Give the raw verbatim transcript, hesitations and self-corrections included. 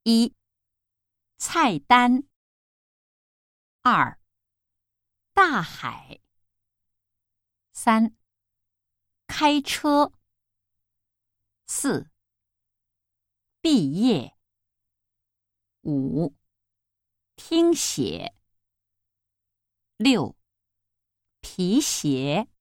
一、菜单。二、大海。三、开车。四、毕业。五、听写。六、皮鞋。